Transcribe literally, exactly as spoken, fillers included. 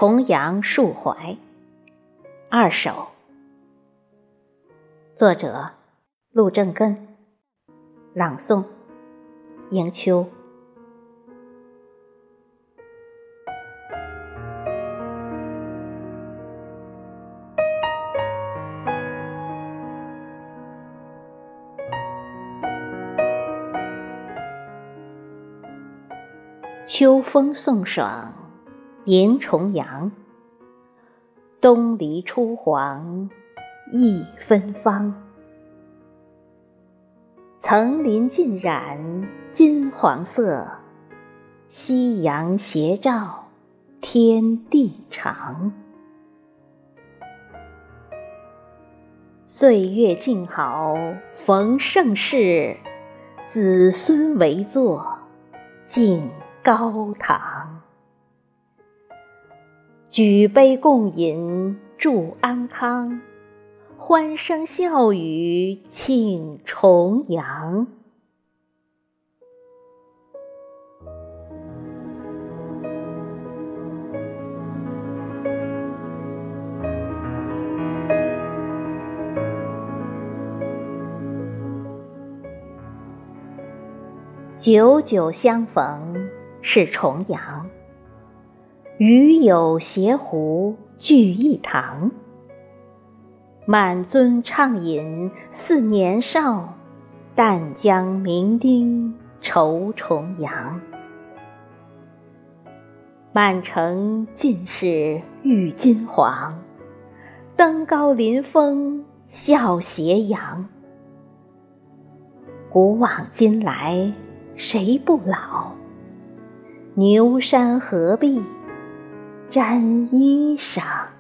重阳述怀二首，作者陆正根，朗诵迎秋。秋风送爽迎重阳，东篱初黄意芬芳。层林尽染金黄色，夕阳斜照天地长。岁月静好逢盛世，子孙围坐敬高堂。举杯共饮祝安康，欢声笑语庆重阳。久久相逢是重阳，与友携壶聚一堂。满樽畅饮似年少，但将酩酊愁重阳。满城尽是郁金黄，登高临风笑斜阳。古往今来谁不老？牛山何必沾衣裳。